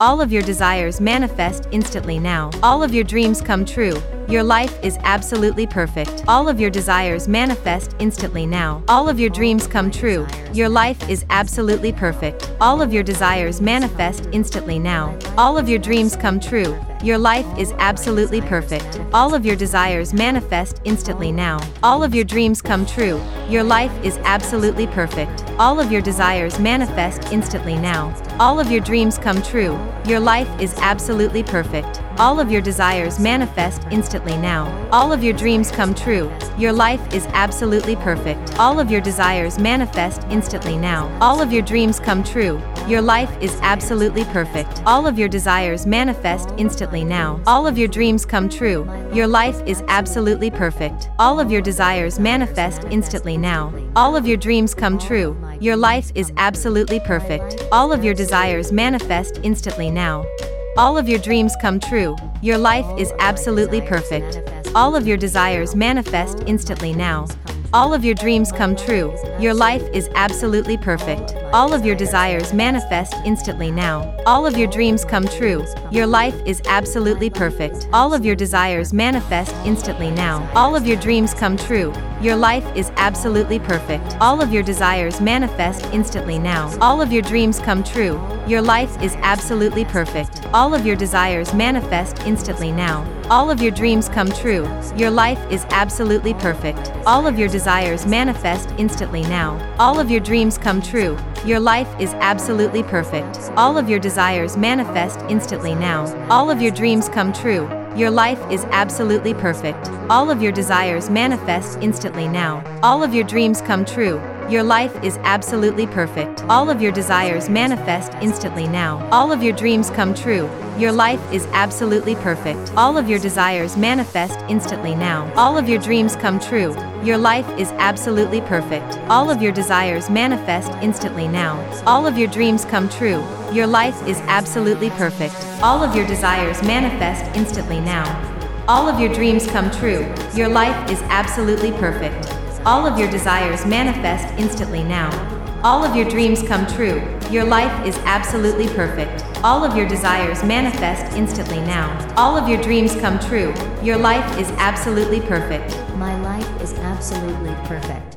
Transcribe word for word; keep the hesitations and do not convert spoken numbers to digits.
All of your desires manifest instantly now. All of your dreams come true. Your life is absolutely perfect. All of your desires manifest instantly now. All of your dreams come true. Your life is absolutely perfect. All of your desires manifest instantly now. All of your dreams come true. Your life is absolutely perfect. All of your desires manifest instantly now. All of your dreams come true. Your life is absolutely perfect. All of your desires manifest instantly now. All of your dreams come true. Your life is absolutely perfect. All of your desires manifest instantly now. All of your dreams come true. Your life is absolutely perfect. All of your desires manifest instantly now. All of your dreams come true. Your life is absolutely perfect. All of your desires manifest instantly now. All of your dreams come true. Your life is absolutely perfect. All of your desires manifest instantly now. All of your dreams come true. Your life is absolutely perfect. All of your desires manifest instantly now. All of your dreams come true. Your life is absolutely perfect. All of your desires manifest instantly now. All of your dreams come true. Your life is absolutely perfect. All of your desires manifest instantly now. All of your dreams come true. Your life is absolutely perfect. All of your desires manifest instantly now. All of your dreams come true. Your life is absolutely perfect. All of your desires manifest instantly now. All of your dreams come true. Your life is absolutely perfect. All of your desires manifest instantly now. All of your dreams come true. Your life is absolutely perfect. All of your desires manifest instantly now. All of your dreams come true. Your life is absolutely perfect. All of your desires manifest instantly now. All of your dreams come true. Your life is absolutely perfect. All of your desires manifest instantly now. All of your dreams come true. Your life is absolutely perfect. All of your desires manifest instantly now. All of your dreams come true. Your life is absolutely perfect. All of your desires manifest instantly now. All of your dreams come true. Your life is absolutely perfect. All of your desires manifest instantly now. All of your dreams come true. Your life is absolutely perfect. All of your desires manifest instantly now. All of your dreams come true. Your life is absolutely perfect. All of your desires manifest instantly now. All of your dreams come true. Your life is absolutely perfect. All of your desires manifest instantly now. All of your dreams come true. Your life is absolutely perfect. My life is absolutely perfect.